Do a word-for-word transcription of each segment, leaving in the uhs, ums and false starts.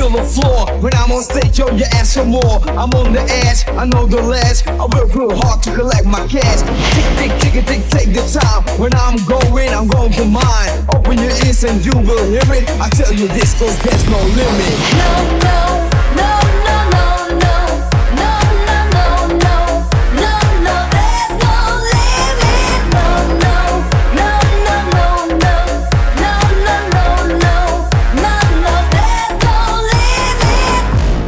on the floor. When I'm on stage, yo, you ask for more. I'm on the edge, I know the ledge. I work real hard to collect my cash. Tick, tick, tick, tick, take the time. When I'm going, I'm going for mine. Open your ears and you will hear it. I tell you this, cause there's no limit. No, no, no, no, no, no. No, no, no, no. No, no, there's no limit. No, no, no, no, no, no. No, no, no, no. No, no, there's no limit.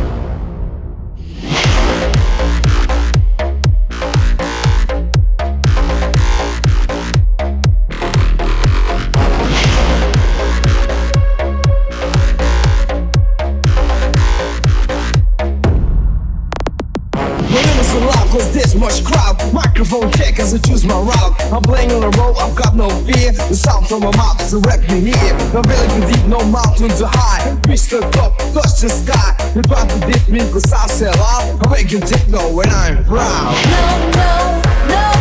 When it was so loud, cause there's much crowd. Microphone check as I choose my route. I'm playing on the road, I've got no fear. The sound from my mouth is a wreck me here. No valley too deep, no mountain too high. Reach the top, touch the sky. You try to diss me cause I sell out. I make you techno when I'm proud. No, no, no.